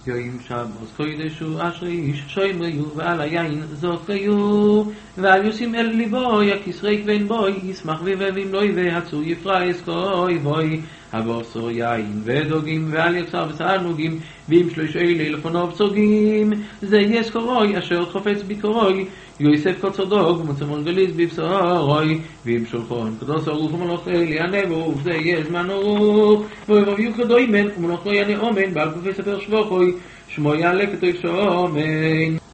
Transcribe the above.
יוים שבוס קודשו אשר איש שוימריו ועל היין זוכריו ועל יוסים אל ליבו יכיסרי כבן בוי ישמח ויבבים לוי והצור יפרייס כוי בוי הבוסו יין ודוגים ועל יצר וסענוגים ועם שלושי לילפונו בצוגים זה יסקורוי אשר חופץ ביקורוי יוסף קוצודוג מוצמון גליז בבשורוי ועם שולחון קדוס ארוך ומלוך ליענבו וזה יזמן ארוך ובביו כדוימן ומלוך לא יענה אומן בעל כופי ספר שבוכוי שמו יעלה כתוב שומן